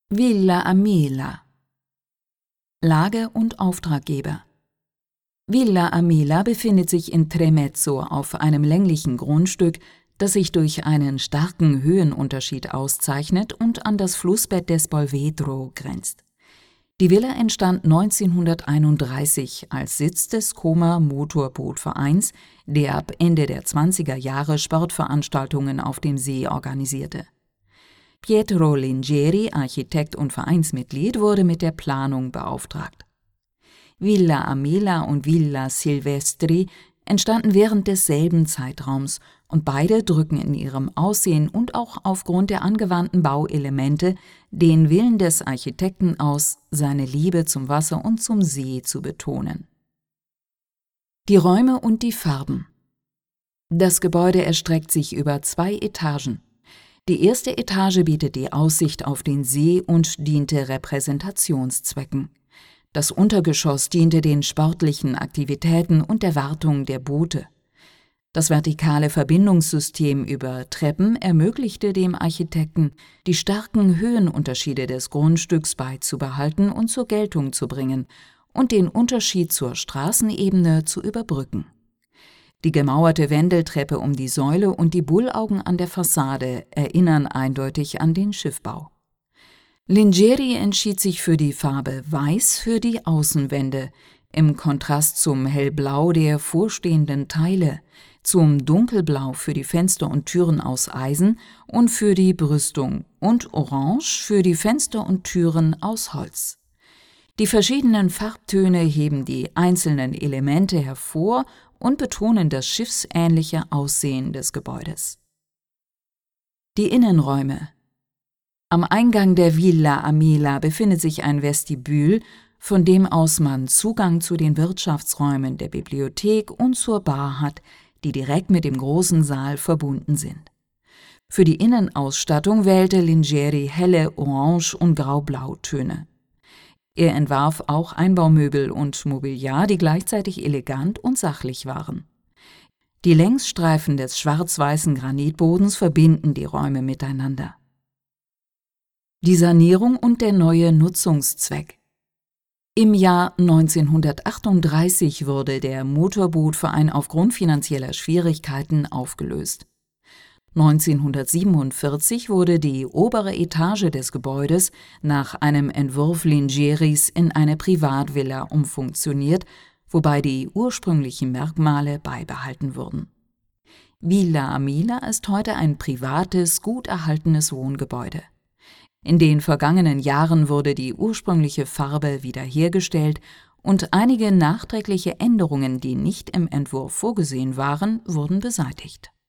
Villa Amela. Lage und Auftraggeber. Villa Amela befindet sich in Tremezzo auf einem länglichen Grundstück, das sich durch einen starken Höhenunterschied auszeichnet und an das Flussbett des Polvedro grenzt. Die Villa entstand 1931 als Sitz des Como Motorbootvereins, der ab Ende der 20er Jahre Sportveranstaltungen auf dem See organisierte. Pietro Lingeri, Architekt und Vereinsmitglied, wurde mit der Planung beauftragt. Villa Amela und Villa Silvestri entstanden während desselben Zeitraums und beide drücken in ihrem Aussehen und auch aufgrund der angewandten Bauelemente den Willen des Architekten aus, seine Liebe zum Wasser und zum See zu betonen. Die Räume und die Farben. Das Gebäude erstreckt sich über 2 Etagen. Die erste Etage bietet die Aussicht auf den See und diente Repräsentationszwecken. Das Untergeschoss diente den sportlichen Aktivitäten und der Wartung der Boote. Das vertikale Verbindungssystem über Treppen ermöglichte dem Architekten, die starken Höhenunterschiede des Grundstücks beizubehalten und zur Geltung zu bringen und den Unterschied zur Straßenebene zu überbrücken. Die gemauerte Wendeltreppe um die Säule und die Bullaugen an der Fassade erinnern eindeutig an den Schiffbau. Lingeri entschied sich für die Farbe Weiß für die Außenwände, im Kontrast zum Hellblau der vorstehenden Teile, zum Dunkelblau für die Fenster und Türen aus Eisen und für die Brüstung und Orange für die Fenster und Türen aus Holz. Die verschiedenen Farbtöne heben die einzelnen Elemente hervor und betonen das schiffsähnliche Aussehen des Gebäudes. Die Innenräume. Am Eingang der Villa Amela befindet sich ein Vestibül, von dem aus man Zugang zu den Wirtschaftsräumen der Bibliothek und zur Bar hat, die direkt mit dem großen Saal verbunden sind. Für die Innenausstattung wählte Lingeri helle Orange- und Grau-Blau-Töne. Er entwarf auch Einbaumöbel und Mobiliar, die gleichzeitig elegant und sachlich waren. Die Längsstreifen des schwarz-weißen Granitbodens verbinden die Räume miteinander. Die Sanierung und der neue Nutzungszweck. Im Jahr 1938 wurde der Motorbootverein aufgrund finanzieller Schwierigkeiten aufgelöst. 1947 wurde die obere Etage des Gebäudes nach einem Entwurf Lingeris in eine Privatvilla umfunktioniert, wobei die ursprünglichen Merkmale beibehalten wurden. Villa Amela ist heute ein privates, gut erhaltenes Wohngebäude. In den vergangenen Jahren wurde die ursprüngliche Farbe wiederhergestellt und einige nachträgliche Änderungen, die nicht im Entwurf vorgesehen waren, wurden beseitigt.